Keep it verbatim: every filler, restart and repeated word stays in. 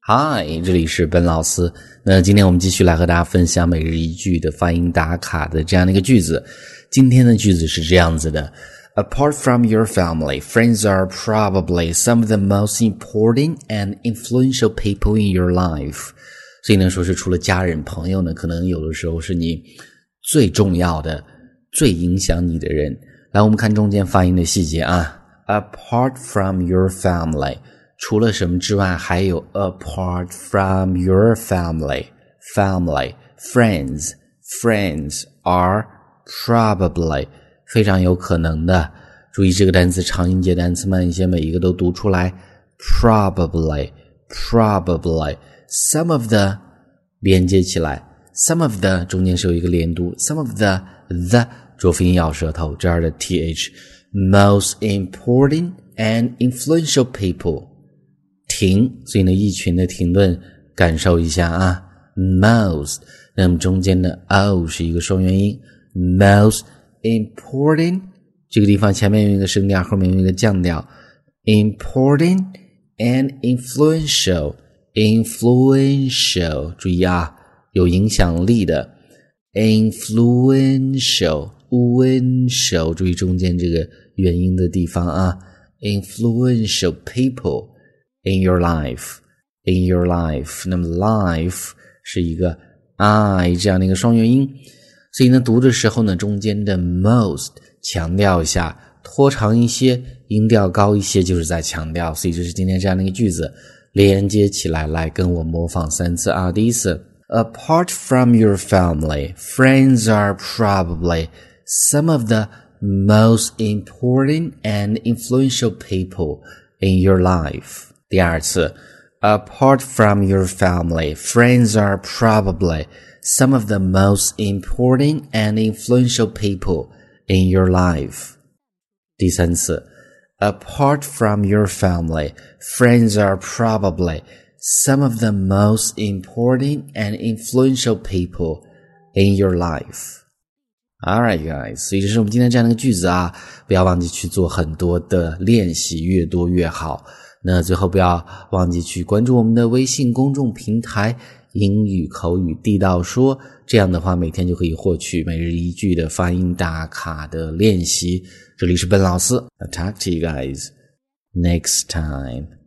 嗨，这里是本老师。那今天我们继续来和大家分享每日一句的发音打卡的这样的一个句子。今天的句子是这样子的 ：Apart from your family, friends are probably some of the most important and influential people in your life. 所以呢，说是除了家人朋友呢，可能有的时候是你最重要的、最影响你的人。来，我们看中间发音的细节啊。Apart from your family。除了什么之外，还有 apart from your family, family, friends, friends are probably 非常有可能的。注意这个单词长音节单词慢一些，每一个都读出来。probably, probably, some of the 连接起来 some of the 中间是有一个连读 some of the the 浊辅音咬舌头，这儿的 th most important and influential people停，所以呢一群的停顿感受一下啊 most 那么中间的 o 是一个双元音 most important 这个地方前面有一个升调，后面有一个降调 important and influential influential 注意啊有影响力的 influential influential 注意中间这个元音的地方啊 influential people in your life, in your life. 那么 life 是一个 I 这样的一个双元音，所以呢读的时候呢中间的 most 强调一下，拖长一些，音调高一些，就是在强调，所以这是今天这样的一个句子，连接起来，来跟我模仿三次啊。第一次 Apart from your family, friends are probably some of the most important and influential people in your life.第二次 Apart from your family, friends are probably some of the most important and influential people in your life. 第三次 Apart from your family, friends are probably some of the most important and influential people in your life. Alright guys, 所以这是我们今天这样的一个句子啊，不要忘记去做很多的练习，越多越好。那最后不要忘记去关注我们的微信公众平台英语口语地道说，这样的话每天就可以获取每日一句的发音打卡的练习。这里是本老师 I'll talk to you guys next time.